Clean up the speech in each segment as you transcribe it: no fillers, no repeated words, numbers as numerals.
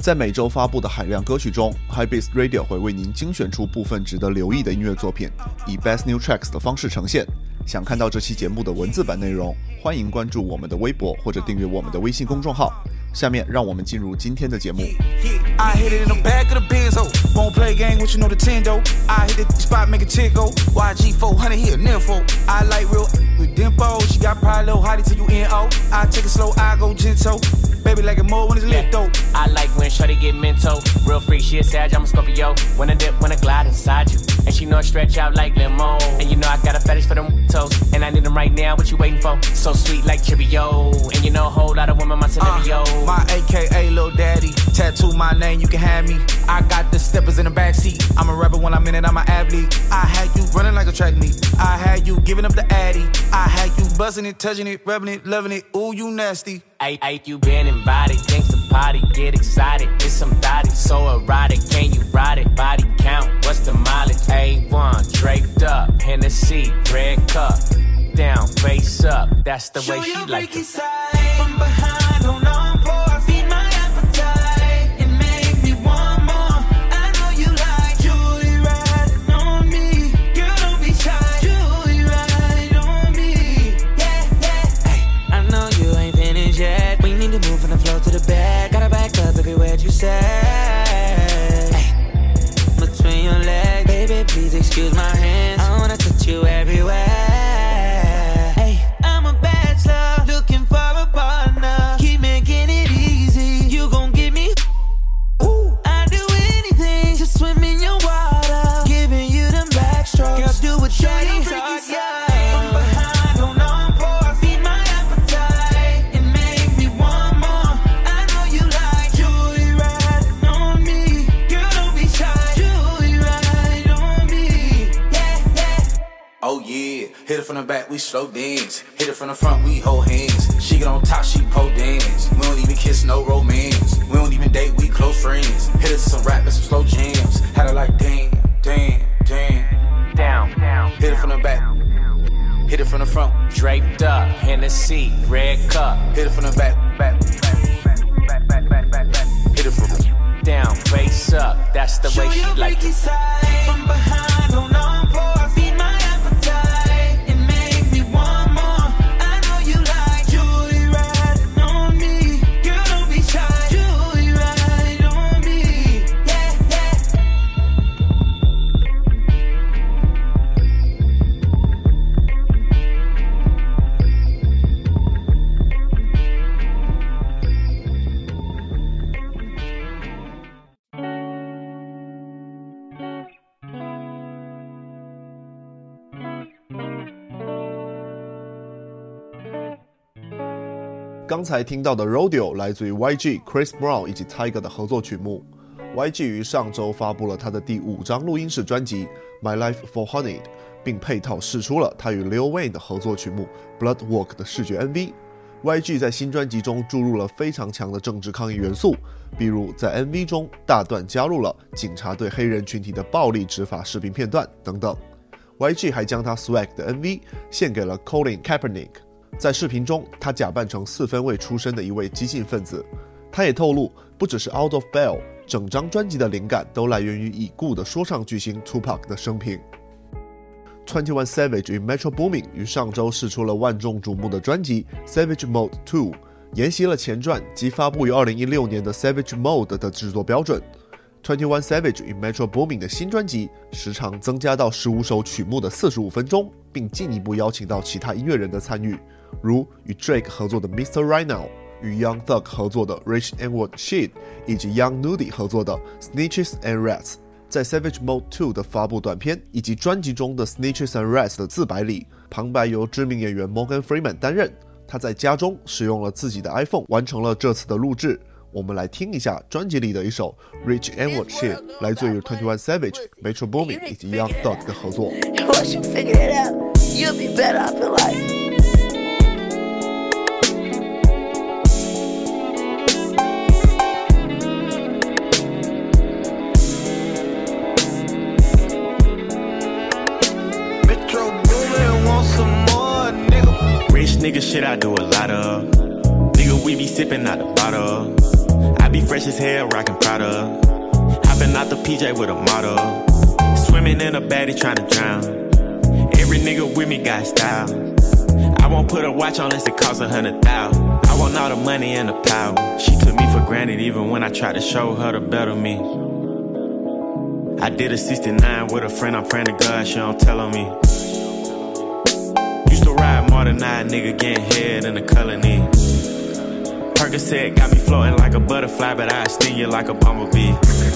在每周发布的海量歌曲中 Hypebeast Radio 会为您精选出部分值得留意的音乐作品，以 Best New Tracks 的方式呈现。想看到这期节目的文字版内容，欢迎关注我们的微博或者订阅我们的微信公众号。下面让我们进入今天的节目。 I hit it in the back of the Benzo. Won't play game with you know the Tendo. I hit the spot, make a chick go. YG 400, he a nympho. I like real with dimpo. She got probably a little hottie till you NO. I take it slow, I go gentle. Baby like it more when it's lit though. I like when shorty get mental. Real freak, she a Sag, I'm a Scorpio. When I dip, when I glide inside you. And she know I stretch out like limo. And you know I got a fetish for them toes. And I need them right now, what you waiting for? So sweet like Chibio. And you know a whole lot of women, my Olivio. My AKA Lil Daddy. Tattoo my name, you can have me. I got the steppers in the backseat. I'm a rapper when I'm in it, I'm an athlete. I had you running like a track meet. I had you giving up the addy. I had you buzzing it, touching it, rubbing it, loving it. Ooh, you nasty. Ay, you been invited, thanks to party, get excited. It's some thotty, so erotic, can you ride it? Body count, what's the mileage? A1, draped up, Hennessy, red cup. Down, face up, that's the way she like it. From behind, hold on for feed my appetite. It make me want more. I know you like Julie riding on me. Girl, don't be shy. Julie riding on me. Yeah, yeah. Hey, I know you ain't finished yet. We need to move from the floor to the back. Gotta back up, baby, where'd you say? Hey, between your legs, baby, please excuse my hands. I wanna touch you everywhere. Hit it from the back, we slow dance. Hit it from the front, we hold hands. She get on top, she pole dance. We don't even kiss, no romance. We don't even date, we close friends. Hit it to some rap and some slow jams. Had her like damn, damn, damn. Down, down. Hit it from the back. Hit it from the front. Draped up, Hennessy, red cup. Hit it from the back, back, back, back, back, back, back. Hit it from the down, face up, that's the way she like it. From behind, hold on for feed my appetite. It make me want more. I know you like Julie riding on me. Girl, don't be shy. Julie riding on me. Yeah, yeah. 刚才听到的 Rodeo 来自于 YG、Chris Brown 以及 Tyga 的合作曲目。YG 于上周发布了他的第5张录音室专辑 My Life for Honey， 并配套释出了他与 Lil Wayne 的合作曲目 Bloodwalk 的视觉 MV。YG 在新专辑中注入了非常强的政治抗议元素，比如在 MV 中大段加入了警察对黑人群体的暴力执法视频片段等等。YG 还将他 Swag 的 MV 献给了 Colin Kaepernick。在视频中，他假扮成4分卫出身的一位激进分子。他也透露，不只是 Out of Bail， 整张专辑的灵感都来源于已故的说唱巨星 Tupac 的生平。21 Savage 与 Metro Boomin 于上周释出了万众瞩目的专辑 Savage Mode 2， 沿袭了前传及发布于2016年的 Savage Mode 的制作标准。21 Savage 与 Metro Boomin 的新专辑时长增加到15首曲目的45分钟，并进一步邀请到其他音乐人的参与，如与 Drake 合作的 Mr. Right Now， 与 Young Thug 合作的 Rich N-Word Shit， 以及 Young Nudy 合作的 Snitches and Rats。在 Savage Mode 2 的发布短片以及专辑中的 Snitches and Rats 的自白里，旁白由知名演员 Morgan Freeman 担任。他在家中使用了自己的 iPhone 完成了这次的录制。我们来听一下专辑里的一首 Rich N-Word Shit， 来自于21 Savage、Metro Boomin 以及 Young Thug 的合作。 Once you figure it out, you'll be better off in life. Rich nigga shit I do a lot of. Nigga, we be sipping out the bottle. I be fresh as hell, rockin' Prada. Hopping out the PJ with a model. Swimming in a baddie tryna drown. Every nigga with me got style. I won't put a watch on unless it costs 100,000. I want all the money and the power. She took me for granted even when I tried to show her the better me. I did a 69 with a friend, I'm praying to God she don't tell on me. Used to ride more than I, nigga getting head in the colony. Percocet got me floating like a butterfly, but I sting you like a bumblebee.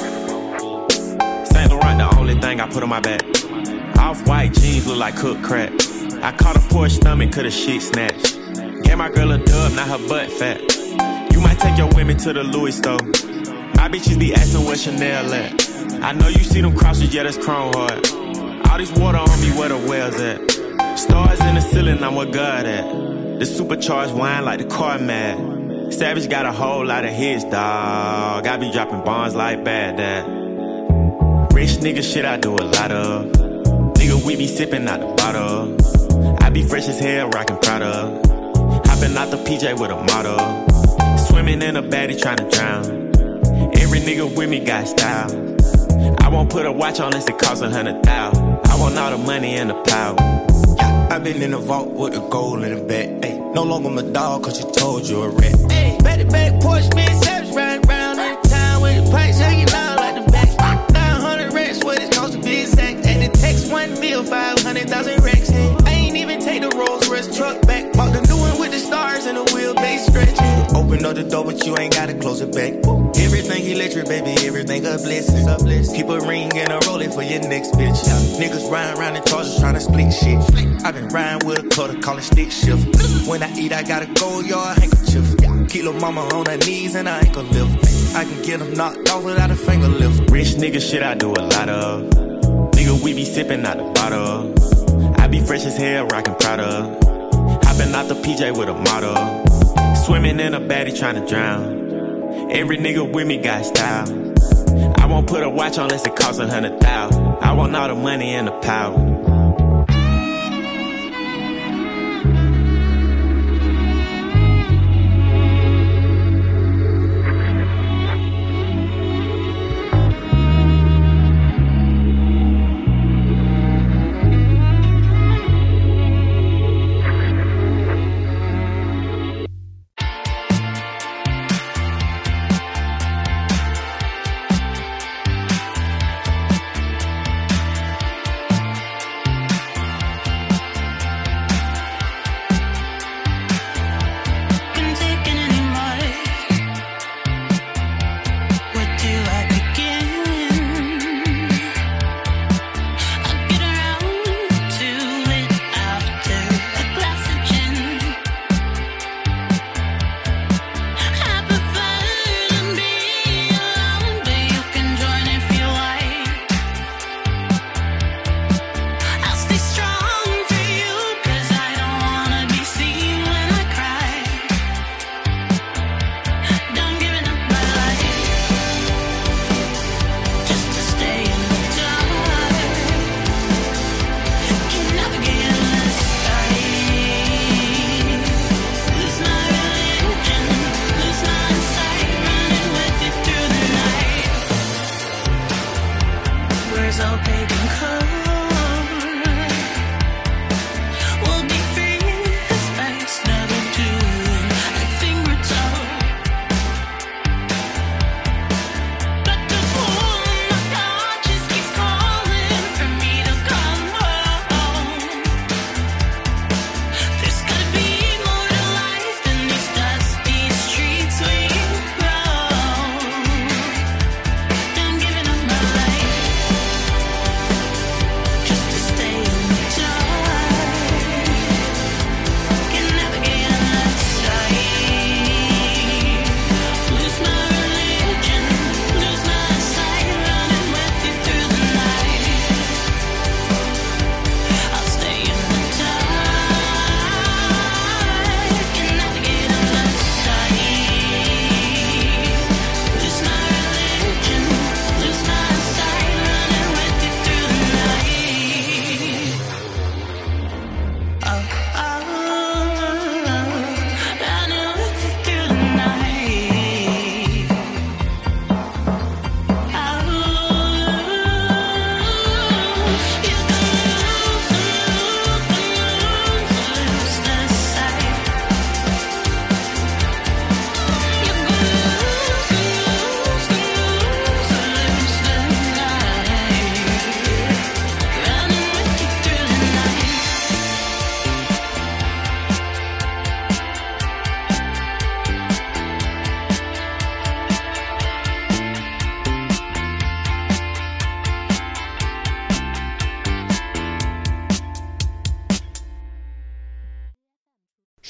Saint Laurent the only thing I put on my back. Off-white jeans look like cooked crack. I caught a poor stomach, could the shit snatched. Gave my girl a dub, not her butt fat. You might take your women to the Louis store. My bitches be asking where Chanel at. I know you see them crosses, yeah, that's chrome hard. All this water on me, where the wells at? Stars in the ceiling, I'm where God at. The supercharged wine like the car mad. Savage got a whole lot of hits, dawg. I be dropping bombs like Baghdad. Rich nigga shit I do a lot of. Nigga, we be sipping out the bottle. I be fresh as hell, rockin' Prada. Hopping out the PJ with a model. Swimming in a baddie tryna drown. Every nigga with me got style. I won't put a watch on unless it costs 100,000. I want all the money and the power. Yeah, I been in the vault with the gold in the back. Ay, no longer my dog, cause you told you a rat. Hey, back to back, Porsche, man, Savage riding round in town with the pipes hanging out like the back. 900 racks, what it costs to be exact. And the text 1 mil, 500,000 racks. Hey, I ain't even take the Rolls Royce truck back. Bought the new one with the stars and the wheelbase stretching. Open up the door, but you ain't gotta close it back. Everything electric, baby, everything a blessing. Keep a ring and a rolling for your next bitch. Niggas riding around in Chargers trying to split shit. I been riding with a cutter, call it stick shift. When I eat, I gotta go yard handkerchief. Kilo mama on her knees and I ain't gon' lift. I can get them knocked off without a finger lift. Rich nigga shit I do a lot of. Nigga, we be sipping out the bottle. I be fresh as hell, rockin' Prada. Hopping out the PJ with a model. Swimming in a baddie tryna drown. Every nigga with me got style. I won't put a watch on unless it costs 100,000. I want all the money and the power.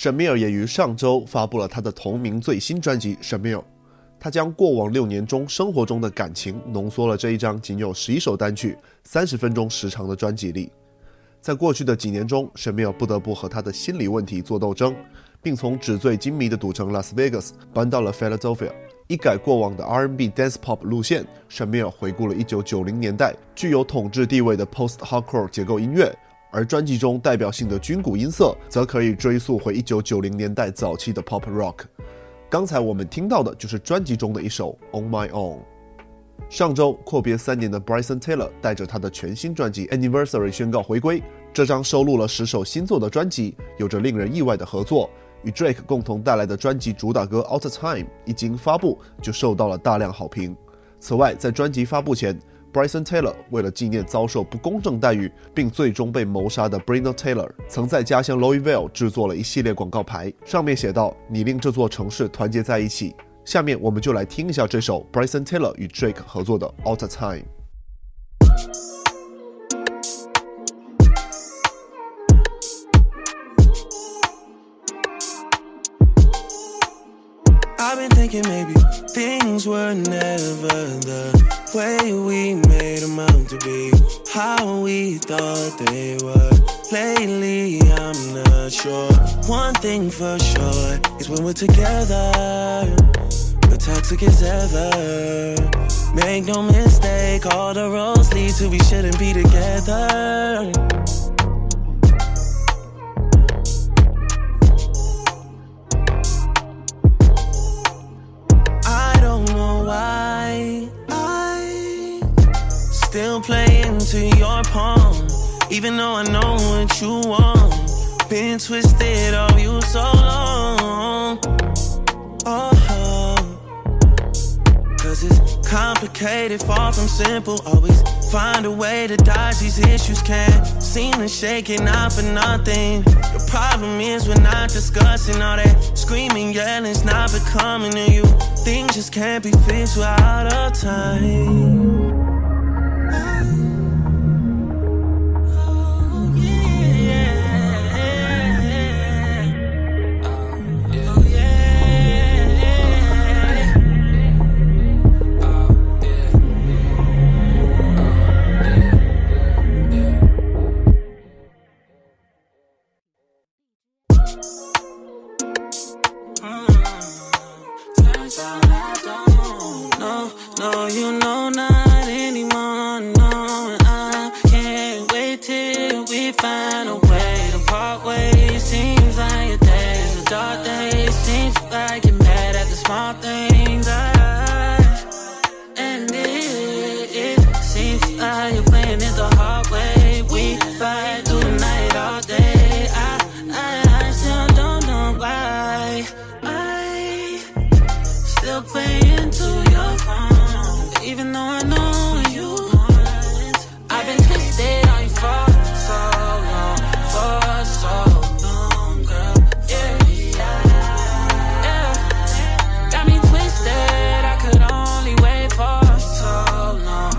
沈密尔也于上周发布了他的同名最新专辑《沈密尔》，他将过往6年中生活中的感情浓缩了这一张仅有11首单曲、30分钟时长的专辑里。在过去的几年中，沈密尔不得不和他的心理问题做斗争，并从纸醉金迷的赌城 Las Vegas 搬到了 Philadelphia。一改过往的 R&B Dance Pop 路线，沈密尔回顾了1990年代具有统治地位的 Post-Hardcore 结构音乐，而专辑中代表性的军鼓音色则可以追溯回1990年代早期的 Pop Rock。刚才我们听到的就是专辑中的一首 On My Own。上周阔别3年的 Bryson Tiller 带着他的全新专辑 Anniversary 宣告回归，这张收录了10首新作的专辑有着令人意外的合作，与 Drake 共同带来的专辑主打歌 All the Time 一经发布就受到了大量好评。此外，在专辑发布前， Bryson Tiller 为了纪念遭受不公正待遇并最终被谋杀的 Breonna Taylor， 曾在家乡 Louisville 制作了一系列广告牌，上面写道：你令这座城市团结在一起。下面我们就来听一下这首 Bryson Tiller 与 Drake 合作的 All the Time。I've been thinking maybe things were never the way we made them out to be, how we thought they were. Lately, I'm not sure. One thing for sure is when we're together, the toxic as ever. Make no mistake, all the roads lead to we shouldn't be together. Still play into your palm, even though I know what you want. Been twisted of you so long. Cause it's complicated, far from simple. Always find a way to dodge these issues. Can't seem to shake it, not for nothing. The problem is we're not discussing all that screaming, yelling's not becoming to you. Things just can't be fixed without a time. No, you know not anymore, no. I can't wait till we find a way to part ways. Seems like your days are dark days. Seems like you're mad at the small things. And it seems like you're playing it the hard way. We fight through the night all day. I still don't know why I still play into your phone. Even though I know you want, I've been twisted on you for so long, girl. Yeah. Got me twisted, I could only wait for so long,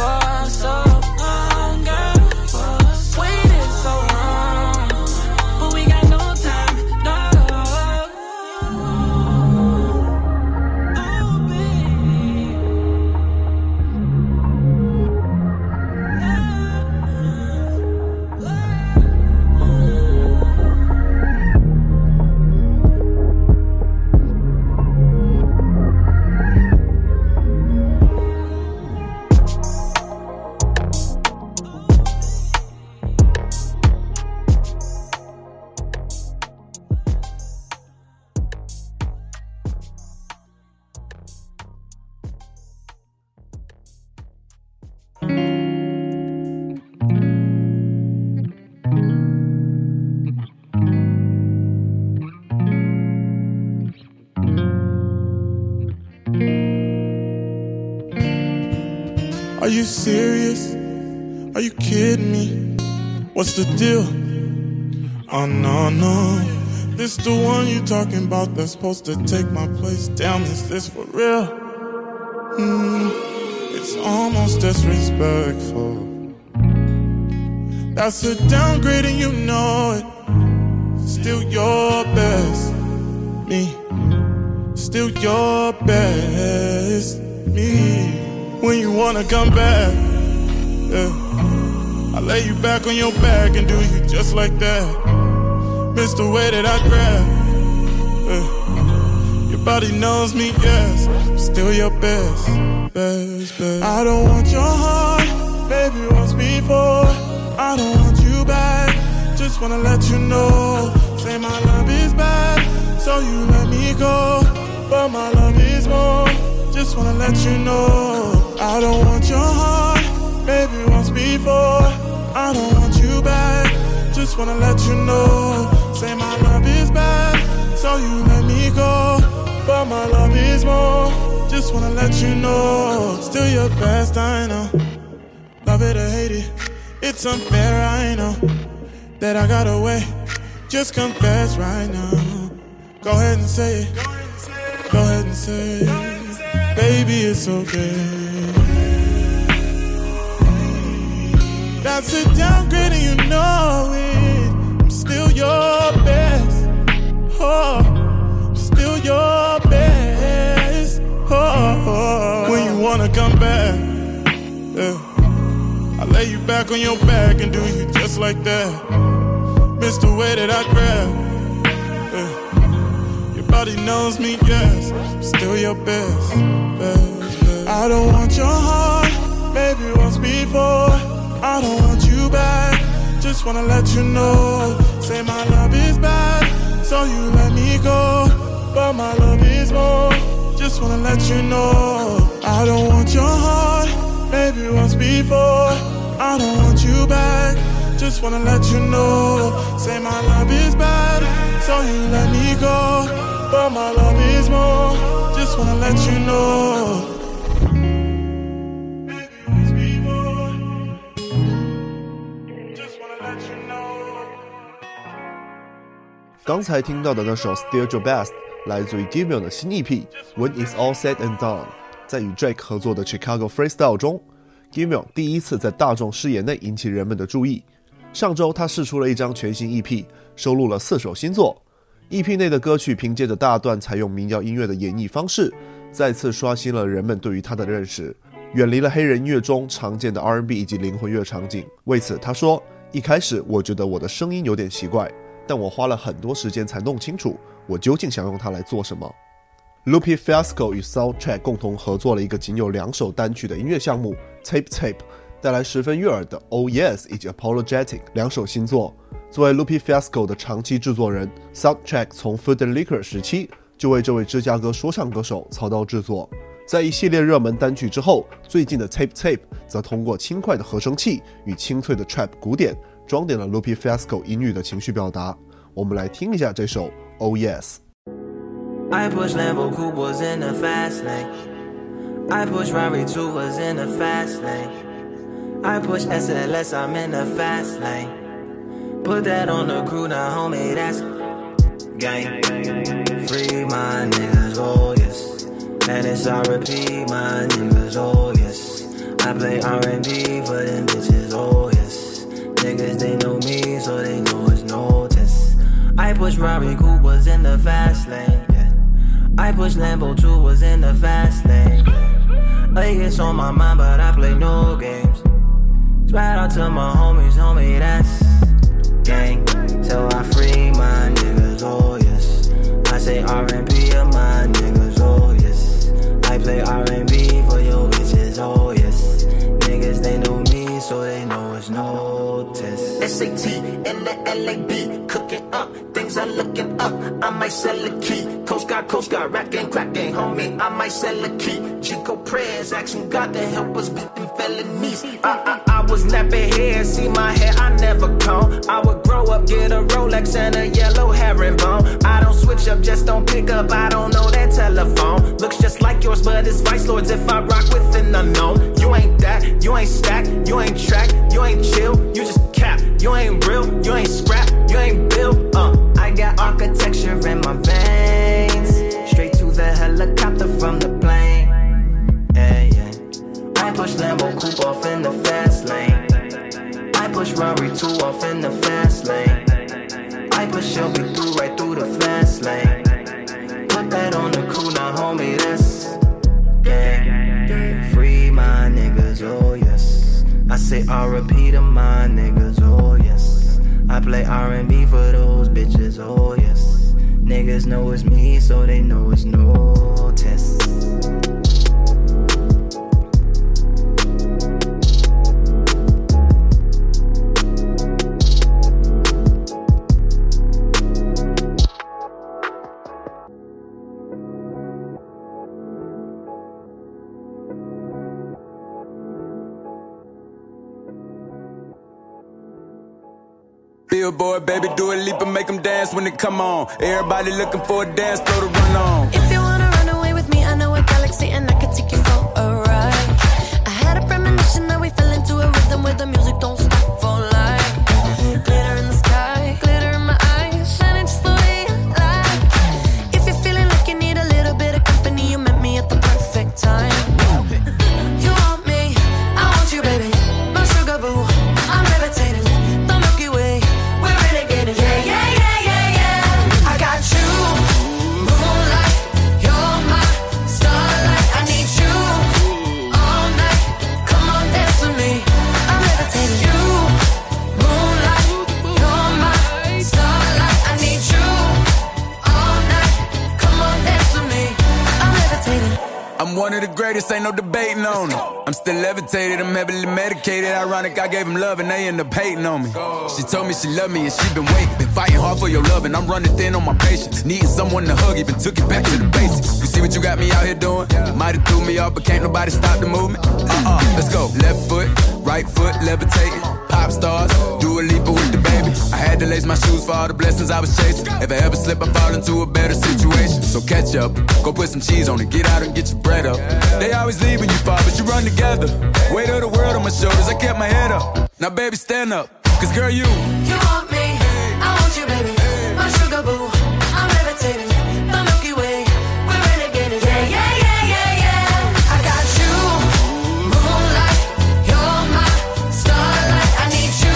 girl. Waited so long, but we got no time, no. Oh, baby. Are you serious? Are you kidding me? What's the deal? Oh no, no. This the one you talking about that's supposed to take my place. Damn, is this for real? It's almost disrespectful. That's a downgrade and you know it. It's still your best me. Still your best me. When you wanna come back, yeah, I lay you back on your back and do you just like that. Miss the way that I grab, yeah. Your body knows me, yes, I'm still your best. I don't want your heart, baby, once before. I don't want you back, just wanna let you know. Say my love is bad, so you let me go. But my love is more, just wanna let you know. I don't want your heart, baby, once before. I don't want you back, just wanna let you know. Say my love is bad, so you let me go. But my love is more, just wanna let you know. Still your best, I know. Love it or hate it, it's unfair, I know. That I got away, just confess right now. Go ahead and say it, go ahead and say it. Baby, it's okay. That's a downgrade and you know it. I'm still your best, oh, I'm still your best, oh. When you wanna come back, yeah, I lay you back on your back and do you just like that. Miss the way that I grab, yeah. Your body knows me, yes, I'm still your best. I don't want your heart, baby, once before. I don't want you back, just wanna let you know. Say my love is bad, so you let me go. But my love is more, just wanna let you know. I don't want your heart, baby, once before. I don't want you back, just wanna let you know. Say my love is bad, so you let me go. But my love is more, just wanna let you know. 刚才听到的那首 Still Your Best 来自于 Giveon 的新 EP When It's All Said and Done。 在与 Drake 合作的 Chicago Freestyle 中， Giveon 第一次在大众视野内引起人们的注意。上周他释出了一张全新 EP， 收录了4首新作。 EP 内的歌曲凭借着大段采用民谣音乐的演绎方式，再次刷新了人们对于他的认识，远离了黑人音乐中常见的 R&B 以及灵魂乐场景。为此他说，一开始我觉得我的声音有点奇怪，但我花了很多时间才弄清楚我究竟想用它来做什么。 Lupe Fiasco 与 Soundtrack 共同合作了一个仅有2首单曲的音乐项目 Tape Tape， 带来十分悦耳的 Oh Yes 以及 Apologetic 2首新作。作为 Lupe Fiasco 的长期制作人， Soundtrack 从 Food and Liquor 时期就为这位芝加哥说唱歌手操刀制作。在一系列热门单曲之后，最近的 Tape Tape 则通过轻快的合成器与清脆的 Trap 鼓点装点了 Lupe Fiasco 音域的情绪表达。我们来听一下这首 Oh Yes。 I push Lambo Coupe was in the fast lane. I push Rari 2 was in the fast lane. I push SLS, I'm in the fast lane. Put that on the crew now, homie, that's gang. Free my niggas, oh yes. And it's R&B, my niggas, oh yes. I play R&B for them bitches, oh yes. Niggas, they know me, so they know it's no test. I push Rari Coupe was in the fast lane, yeah. I push Lambo 2 was in the fast lane, yeah. It's on my mind, but I play no games. Right out to my homies, homie, that's gang. So I free my niggas, oh yes. I say R&B of my niggas, oh yes. I play R&B for your bitches, oh yes. Niggas, they know me, so they know it's no test. SAT in the LAB, cooking up, things are looking up. I might sell a key. Coast Guard, rap game, crack game, homie. I might sell a key. Chico prayers, asking God to help us beat them felonies. I was napping hair, see my hair, I never comb. I would grow up, get a Rolex and a yellow herringbone. I don't switch up, just don't pick up, I don't know that telephone. Looks just like yours, but it's Vice Lords if I rock with an unknown. You ain't that, you ain't stacked, you ain't track, you ain't chill, you just cap. You ain't real, you ain't scrap, you ain't built, I got architecture in my veins. Straight to the helicopter from the plane. Yeah, yeah. I push Lambo Coupe off in the fast lane. I push Rari 2 off in the fast lane. I but she'll be through right through the fast lane. Put that on the crew, now homie, that's gang. Free my niggas, oh yes. I say R.I.P. to my niggas, oh yes. I play R&B for those bitches, oh yes. Niggas know it's me, so they know it's no test. Billboard, baby, do a leap and make them dance when they come on. Everybody looking for a dance floor to run on. If you wanna run away with me, I know a galaxy and I can take you for a ride. I had a premonition that we fell into a rhythm where the music don't stop for life. Glitter in the sky, glitter in my eyes, shining just the way I like. If you're feeling like you need a little bit of company, you met me at the perfect time. You want me, I want you, baby, my sugar boo, I'm levitating. I'm one of the greatest, ain't no debating on it. I'm still levitated, I'm heavily medicated. Ironic, I gave him love and they end up hating on me. She told me she loved me and she been waiting. Been fighting hard for your love and I'm running thin on my patience. Needing someone to hug, even took it back to the basics. You see what you got me out here doing? Might have threw me off, but can't nobody stop the movement. Let's go. Left foot, right foot, levitating. Pop stars, do a leap with the baby. I had to lace my shoes for all the blessings I was chasing. If I ever slip, I fall into a better situation. So catch up, go put some cheese on it, get out and get your bread up. They always leaving you far, but you run together. Weight of the world on my shoulders, I kept my head up. Now baby, stand up, cause girl, you want me, I want you, baby, my sugar boo, I'm levitating, the Milky Way, we're renegading, yeah, yeah, yeah, yeah, yeah. I got you, moonlight, you're my starlight, I need you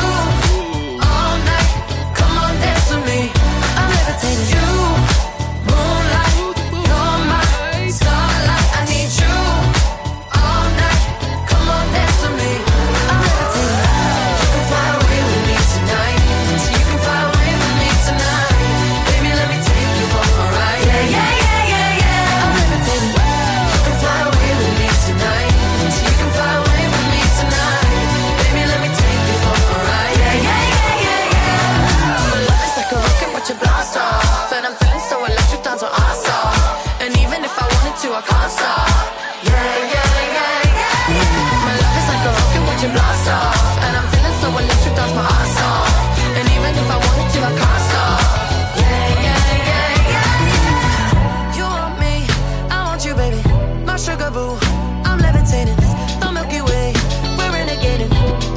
all night, come on dance with me, I'm levitating. You, moonlight, you're my starlight, I need you all night, come on dance with me, I'm levitating. You can fly away with me tonight, so you can fly away with me tonight, baby let me take you for a ride, yeah, yeah, yeah, yeah, yeah, I'm levitating. You can fly away with me tonight, so you can fly away with me tonight, baby let me take you for a ride, yeah, yeah, yeah, yeah, yeah. My love is like a rocket, watch it blast off, and I'm feeling so electric, dance on our stop, and even if I wanted to, I can't stop, yeah, yeah, yeah, yeah. My love is like a rocket, watch it blast off, and I'm feeling so electric, dance my ass off, and even if I wanted to, I can't stop, yeah, yeah, yeah, yeah. You want me, I want you, baby, my sugar boo, I'm levitating, the Milky Way, we're renegading.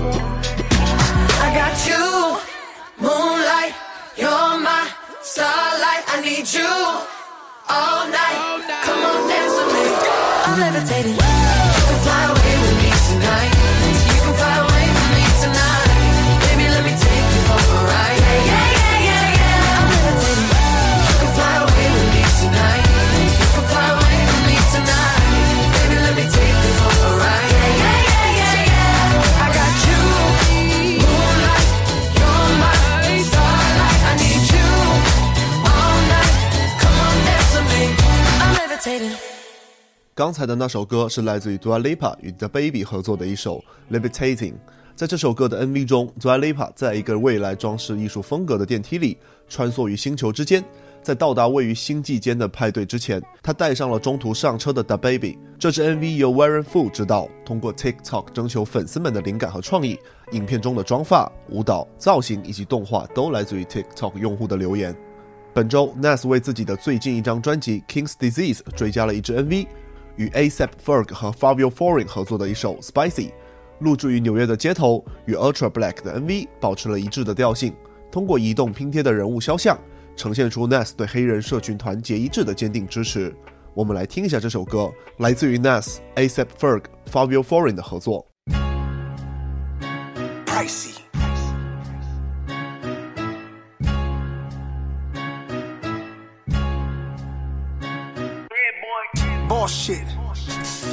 I got you, moonlight, you're my starlight, I need you all night, come on dance with me, I'm levitating. You can fly away with me tonight, so you can fly away with me tonight, baby let me take you for a ride, yeah, yeah, yeah, yeah, yeah, I'm levitating. You can fly away with me tonight, you can fly away with me tonight, baby let me take you for a ride, yeah, yeah, yeah, yeah, yeah. I got you, moonlight, you're my starlight, I need you all night, come on dance with me, I'm levitating. 刚才的那首歌是来自于 Dua Lipa 与 DaBaby 合作的一首 Levitating。 在这首歌的 MV 中， Dua Lipa 在一个未来装饰艺术风格的电梯里穿梭于星球之间，在到达位于星际间的派对之前，他带上了中途上车的 DaBaby。 这支 MV 由 Warren Fu 执导，通过 TikTok 征求粉丝们的灵感和创意，影片中的妆发、舞蹈、造型以及动画都来自于 TikTok 用户的留言。本周 Nas 为自己的最近一张专辑 King's Disease 追加了一支 MV， 与 A$AP Ferg 和 Fabio Foreign 合作的一首 Spicy， 录制于纽约的街头，与 Ultra Black 的 MV 保持了一致的调性，通过移动拼贴的人物肖像，呈现出 Nas 对黑人社群团结一致的坚定支持。我们来听一下这首歌，来自于 Nas、A$AP Ferg、Fabio Foreign 的合作。 Pricey.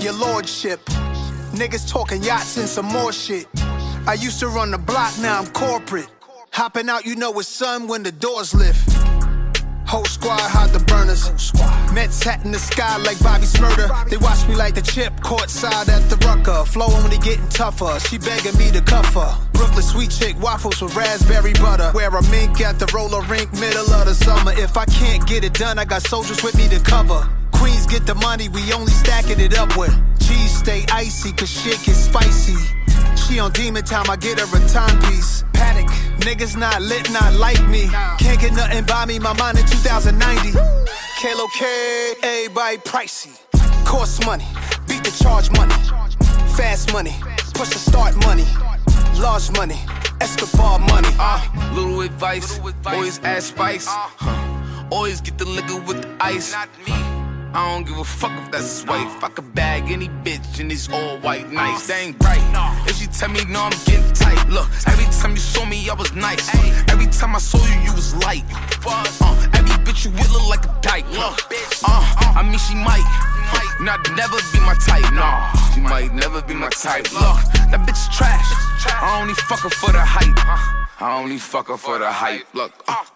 your lordship. Niggas talking yachts and some more shit. I used to run the block, now I'm corporate. Hopping out, you know it's sun when the doors lift. Whole squad hide the burners. Mets hat in the sky like Bobby Smurder. They watch me like the chip, courtside at the Rucker. Flowing when they getting tougher, she begging me to cuff her. Brooklyn sweet chick, waffles with raspberry butter. Wear a mink at the roller rink, middle of the summer. If I can't get it done, I got soldiers with me to cover. Queens get the money, we only stacking it up with. Cheese stay icy, cause shit get spicy. She on demon time, I get her a timepiece. Panic, niggas not lit, not like me. Can't get nothing by me, my mind in 2090. Kalo K, everybody pricey. Cost money, beat the charge money. Fast money, push the start money. Large money, Escobar money. Little advice, always add spice. Always get the liquor with the ice. I don't give a fuck if that's his wife. I could bag any bitch and it's all white nice. They ain't right. If she tell me no, I'm getting tight. Look, every time you saw me, I was nice. Every time I saw you, you was light. Every bitch you with look like a dyke. Look, I mean she might not never be my type. Nah, she might never be my type. Look, that bitch is trash. I only fuck her for the hype. I only fuck her for the hype. Look,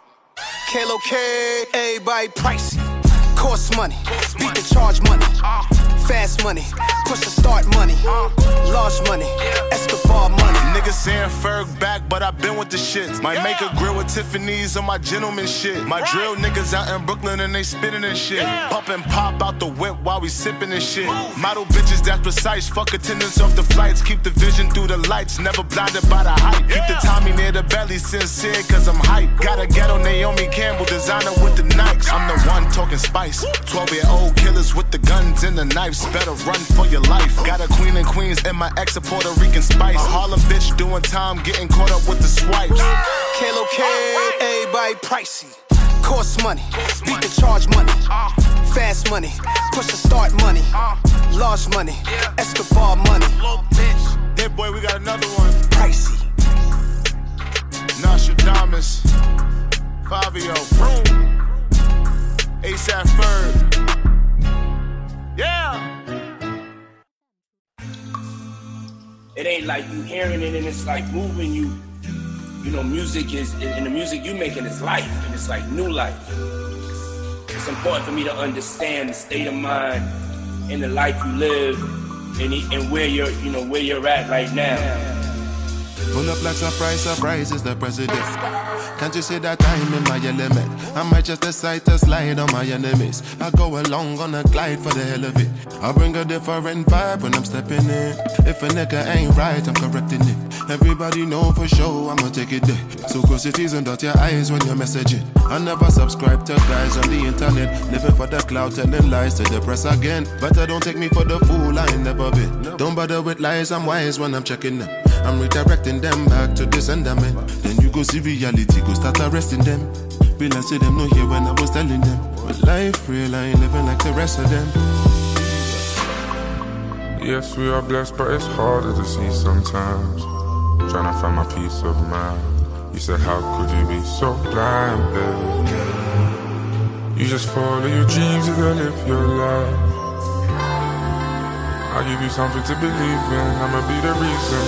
Kalo K, everybody pricey. Cost money, beat the charge money. Fast money, push the start money. Large money, Escobar money. Niggas saying Ferg back, but I been with the shit. Might make a grill with Tiffany's on my gentleman shit. My drill niggas out in Brooklyn and they spinning and shit. Pump and pop out the whip while we sipping and shit. Model bitches that's precise, fuck attendance off the flights. Keep the vision through the lights, never blinded by the hype. Keep the Tommy near the belly, sincere cause I'm hype. Got a ghetto Naomi Campbell designer with the Nikes. I'm the one talking spice. 12-year-old killers with the guns and the knives. Better run for your life. Got a queen and queens and my ex a Puerto Rican spice. Harlem bitch doing time, getting caught up with the swipes. Kalo K, everybody pricey. Cost money, beat the charge money. Fast money, push the start money. Large money, Escobar money. Hey boy, we got another one. Pricey. Nostradamus, Fabio, Vroom, ASAP Ferg. Yeah. It ain't like you hearing it and it's like moving you. You know, music is, and the music you making is life, and it's like new life. It's important for me to understand the state of mind and the life you live and where you're, you know, where you're at right now. Pull up like surprise is the president. Can't you see that I'm in my element? I might just decide to slide on my enemies. I go along on a glide for the hell of it. I bring a different vibe when I'm stepping in. If a nigga ain't right, I'm correcting it. Everybody know for sure I'ma take it there. So cross your T's and dot your I's when you're messaging. I never subscribe to guys on the internet, living for the cloud, telling lies to the press again. But I don't take me for the fool, I ain't never been. Don't bother with lies, I'm wise when I'm checking them. I'm redirecting them back to the sender man. Then you go see reality, go start arresting them. Will I see them no here when I was telling them? But life real, I ain't living like the rest of them. Yes, we are blessed, but it's harder to see sometimes. Trying to find my peace of mind. You said, how could you be so blind, babe? You just follow your dreams and go live your life. I'll give you something to believe in, I'ma be the reason.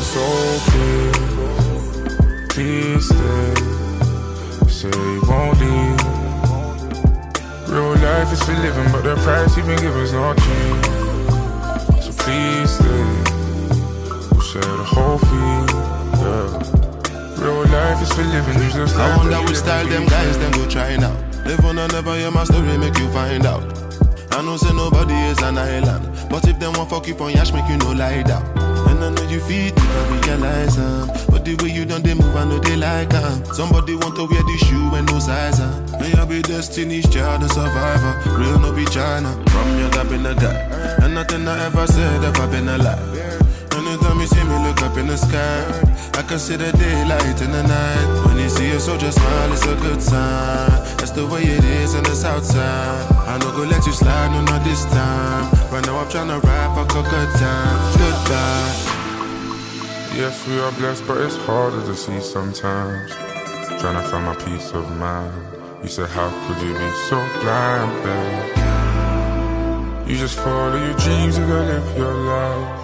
So please stay. Say you won't leave. Real life is for living, but the price you've been given's not cheap. So please stay. We'll share the whole fee, yeah. Real life is for living, you just I wonder which style them guys them go try now. Live on and never hear my story, make you find out. I know say nobody is an island, but if them want fuck you on yash, make you no lie down. And I know you feel it, I realize but the way you done they move, I know they like somebody want to wear the shoe and no size May I be Destiny's Child, a survivor. Real no be China. From young I've been a guy, and nothing I ever said ever been a lie. Anytime you see me look up in the sky, I can see the daylight in the night. When you see a soldier smile, it's a good sign. That's the way it is in the south side. I no go let you slide, no not this time. Right now I'm tryna rap, I got good time. Goodbye. Yes, we are blessed, but it's harder to see sometimes. Trying to find my peace of mind. You said, how could you be so blind, babe? You just follow your dreams, you gotta live your life.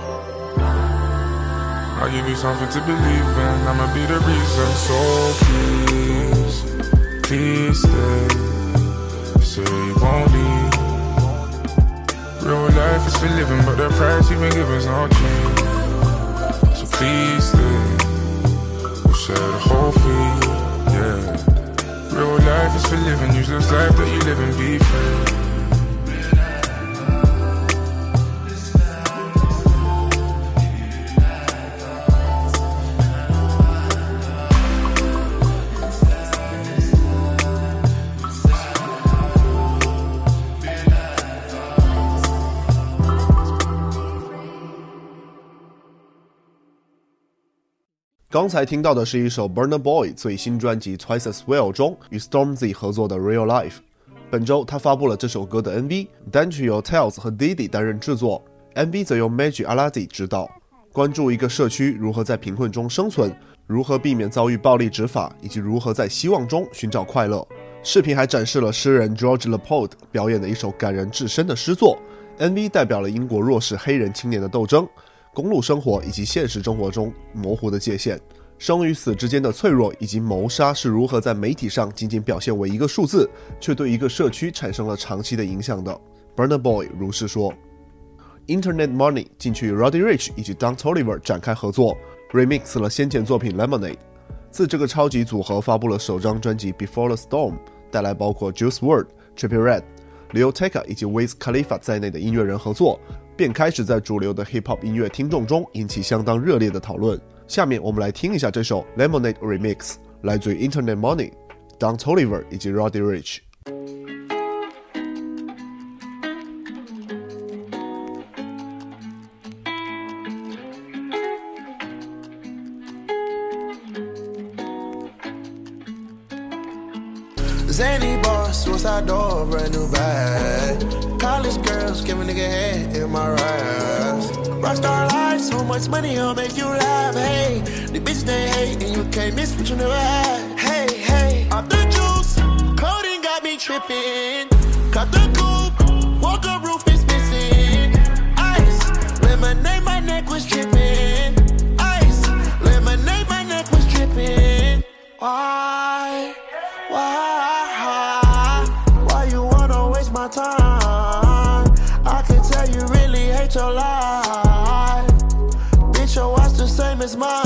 I'll give you something to believe in, I'ma be the reason. So please stay. You say you won't leave. Real life is for living, but the price you've been given's not cheap. So please stay. We'll share the whole fee, yeah. Real life is for living, use this life that you live and be free. 刚才听到的是一首 Burna Boy 最新专辑 Twice as Well 中与 Stormzy 合作的 Real Life。本周他发布了这首歌的 MV， 单曲由 Tails 和 Diddy 担任制作， MV 则由 Majid Aladi 执导，关注一个社区如何在贫困中生存，如何避免遭遇暴力执法，以及如何在希望中寻找快乐。视频还展示了诗人 George Laporte 表演的一首感人至深的诗作。 MV 代表了英国弱势黑人青年的斗争，公路生活以及现实生活中模糊的界限，生与死之间的脆弱，以及谋杀是如何在媒体上仅仅表现为一个数字，却对一个社区产生了长期的影响的。 Burna Boy 如是说。 Internet Money 近期与 Roddy Ricch 以及 Don Toliver 展开合作， remix 了先前作品 Lemonade。 自这个超级组合发布了首张专辑 Before the Storm， 带来包括 Juice WRLD、Trippie Redd、Lil Tecca 以及 Wiz Khalifa 在内的音乐人合作，便开始在主流的 Hip Hop 音乐听众中引起相当热烈的讨论。下面我们来听一下这首 Lemonade Remix， 来自于 Internet Money、Don Toliver 以及 Roddy Rich。Zany boss, suicide door, brand new bag. College girls, give a nigga head in my raps. Rockstar life, so much money, I'll make you laugh. Hey, the bitch they hate, and you can't miss what you never had. Hey, hey, off the juice, codeine got me tripping. Cut the coupe, walker roof is missing. Ice, lemonade, my neck was dripping. Ice, lemonade, my neck was dripping. Why? Why you wanna waste my time? I can tell you really hate your life. Bitch, your watch the same as mine.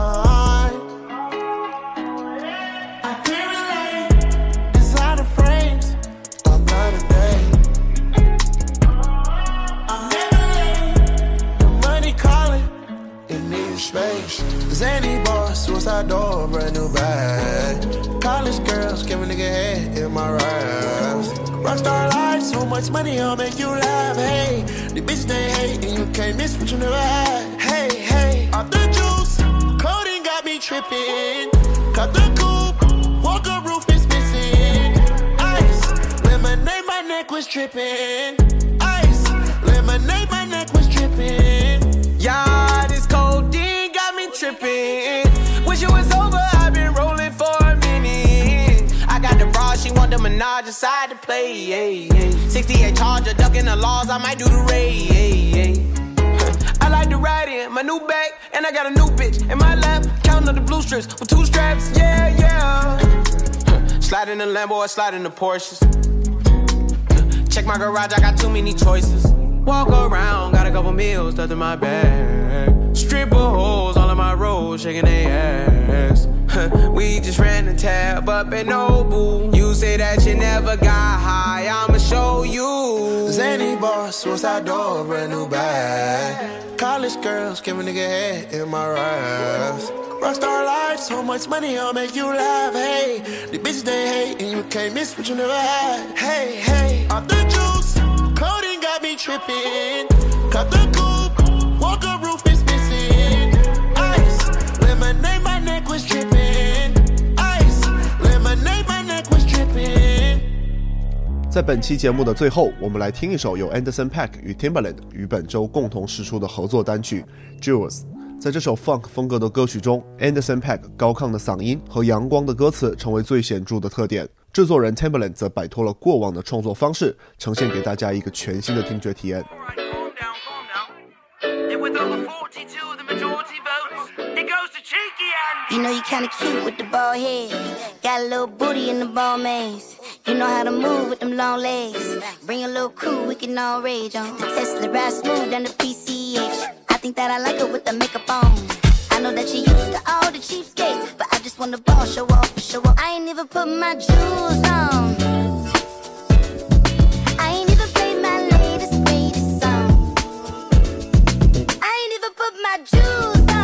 I can't relate. Designer frames, I'm not a day. I'm never late. The money calling, it needs space. Zany boss, suicide door, brand new bag. College girls, give a nigga head in my raps. Rockstar life, so much money, I'll make you laugh. Hey, the bitch they hate, and you can't miss what you never had. Hey, hey, off the juice, codeine got me tripping. Cut the coupe, walker roof is missing. Ice, lemonade, my neck was dripping. Ice, lemonade, my neck was dripping. Yeah, this codeine got me tripping. Wish it was over, I've been rolling for a minute. I got the bra, she want the Minaj aside to play. Yeah, yeah. 68 Charger, ducking the laws, I might do the raid. Yeah, yeah. I like to ride in my new bag, and I got a new bitch in my lap, counting up the blue strips with 2 straps. Yeah, yeah. Slide in the Lambo, I slide in the Porsches. Check my garage, I got too many choices. Walk around, got a couple meals stuffed in my bag. Stripper hoes all in my road, shaking their ass. We just ran the tab up at Nobu. You say that you never got high, I'ma show you. Zany boss, suicide door, brand new bag. College girls, give a nigga head in my raps. Rockstar life, so much money, I'll make you laugh. Hey, the bitch they hate, and you can't miss what you never had. Hey, hey, off the juice, codeine got me tripping. Cut the coupe, walker roof is missing. Ice, lemonade, my neck was dripping. Ice, lemonade, my neck was dripping. 在本期节目的最后，我们来听一首由 Anderson .Paak 与 Timbaland 于本周共同释出的合作单曲 Jewels。 在这首 Funk 风格的歌曲中， Anderson .Paak 高亢的嗓音和阳光的歌词成为最显著的特点。 制作人 Timbaland 则摆脱了过往的创作方式，呈现给大家一个全新的听觉体验。 You know you kinda cute with the bald head. Got a little booty in the ball maze. You know how to move with them long legs. Bring a little crew, we can all rage on. The Tesla ride smooth down the PCH. I think that I like her with the makeup on. I know that you used to all the cheapskates, but I just want the ball, show off, show off. I ain't even put my jewels on. I ain't even played my latest, greatest song. I ain't even put my jewels on.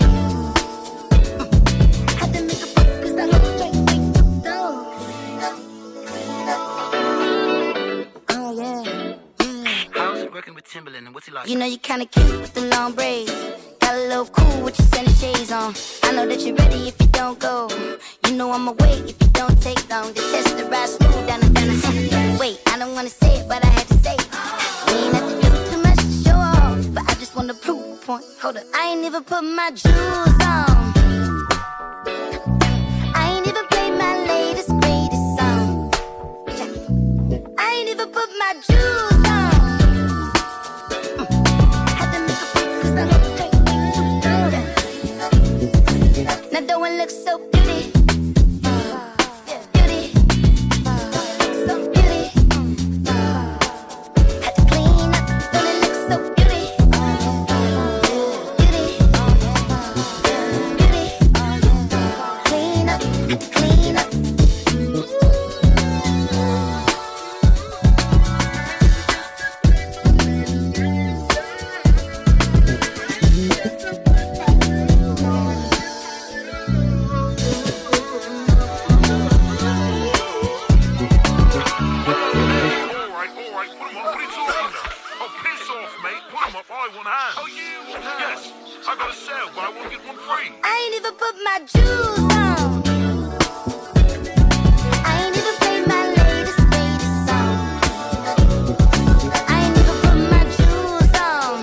Timbaland, and what's he like? You know you kinda cute with the long braids. Got a little cool with your center shades on. I know that you're ready if you don't go. You know I'ma wait if you don't take long. The test the ride smooth down the city. Wait, I don't wanna say it, but I had to say it. We ain't have to do too much to show off, but I just wanna prove a point. Hold up, I ain't even put my jewels on. I ain't even played my latest, greatest song. I ain't even put my jewels on. Now the one looks so beauty, beauty, so beauty. Had to clean up, don't it look so beauty, beauty, beauty. Clean up, clean up. I ain't even put my jewels on. I ain't even played my latest, greatest song. I ain't even put my jewels on.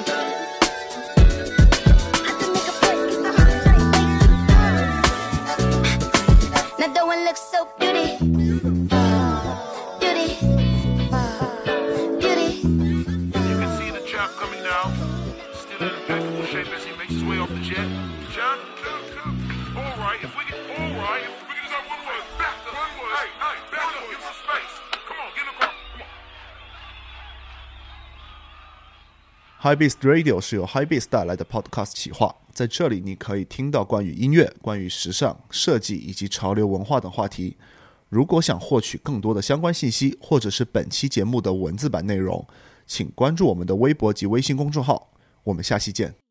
Had to make a break, it's the hot night. Now the one looks so beauty, beauty, beauty. You can see the chap coming down, still in impeccable shape as he makes his way off the jet. John, alright, if we can just have one word, back up, give some space. Come on, give it a call, come on. Hypebeast Radio 是由 Hypebeast 带来的 Podcast 企划，在这里你可以听到关于音乐、关于时尚、设计以及潮流文化等话题。如果想获取更多的相关信息，或者是本期节目的文字版内容，请关注我们的微博及微信公众号。我们下期见。